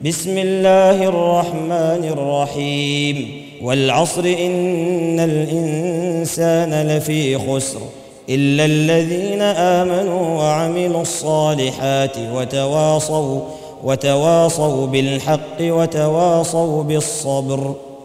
بسم الله الرحمن الرحيم والعصر إن الإنسان لفي خسر إلا الذين آمنوا وعملوا الصالحات وتواصوا بالحق وتواصوا بالصبر